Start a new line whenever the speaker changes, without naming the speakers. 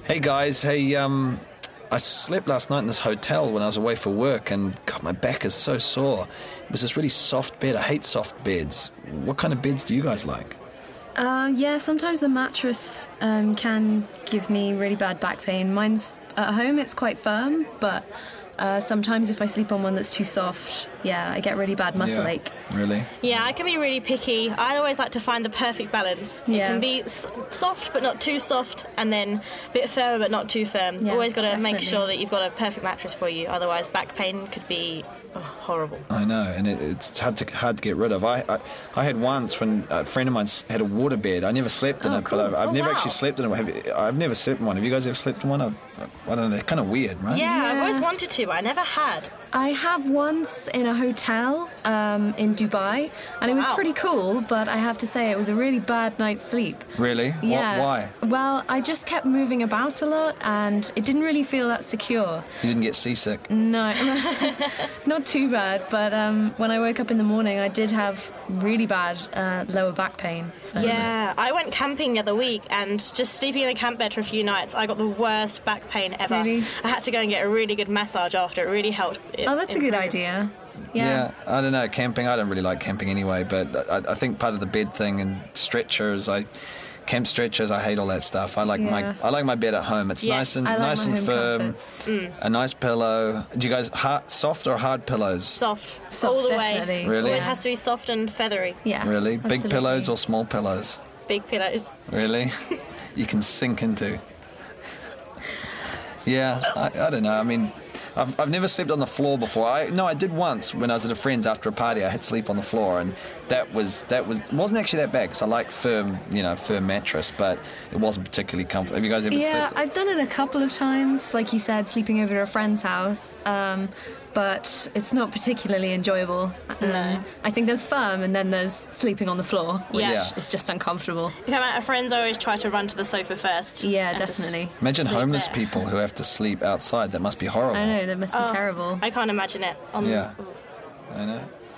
Hey guys, I slept last night in this hotel when I was away for work, and God, my back is so sore. It was this really soft bed. I hate soft beds. What kind of beds do you guys like?
Yeah, sometimes the mattress can give me really bad back pain. Mine's at home, it's quite firm, but sometimes if I sleep on one that's too soft, I get really bad muscle ache.
Really?
Yeah, I can be really picky. I always like to find the perfect balance. It can be soft but not too soft, and then a bit firmer but not too firm.
Yeah,
Always got to
definitely.
make sure that you've got a perfect mattress for you, otherwise back pain could be horrible.
I know, and it's hard to get rid of. I had once when a friend of mine had a waterbed. I never slept in it,
cool.
but I've never
wow.
actually slept in it. I've never slept in one. Have you guys ever slept in one? I don't know. They're kind of weird, right?
Yeah, I've always wanted to, but I never had.
I have once in a hotel in Dubai, and it was
Wow.
pretty cool, but I have to say it was a really bad night's sleep.
Really?
Yeah.
Why?
Well, I just kept moving about a lot, and it didn't really feel that secure.
You didn't get seasick?
No, not too bad, but when I woke up in the morning, I did have really bad lower back pain. So.
Yeah, I went camping the other week, and just sleeping in a camp bed for a few nights, I got the worst back pain ever.
Really?
I had to go and get a really good massage after. It really helped.
Oh, that's a good idea. Yeah.
I don't know. Camping, I don't really like camping anyway, but I think part of the bed thing and stretchers, camp stretchers, I hate all that stuff. I like my bed at home. It's
Yes.
nice
I like
and
my home
firm.
comforts.
A nice pillow. Do you guys soft or hard pillows?
Soft.
Soft,
all the way.
definitely.
Really?
Always has to be soft and feathery.
Yeah.
Really? Big
absolutely.
pillows or small pillows?
Big pillows.
Really? You can sink into. Yeah, I don't know. I mean, I've never slept on the floor before. I did once when I was at a friend's after a party. I had to sleep on the floor, and that wasn't actually that bad because I like firm mattress, but it wasn't particularly comfortable. Have you guys ever
Yeah,
slept?
I've done it a couple of times, like you said, sleeping over at a friend's house. But it's not particularly enjoyable.
No.
I think there's firm and then there's sleeping on the floor, which
Yeah.
is just uncomfortable.
If I'm at a friend's, I always try to run to the sofa first.
Yeah,
and just-
definitely.
Imagine
sleep
homeless
there.
people who have to sleep outside. That must be horrible.
I know, that must be terrible.
I can't imagine it.
Yeah, I know.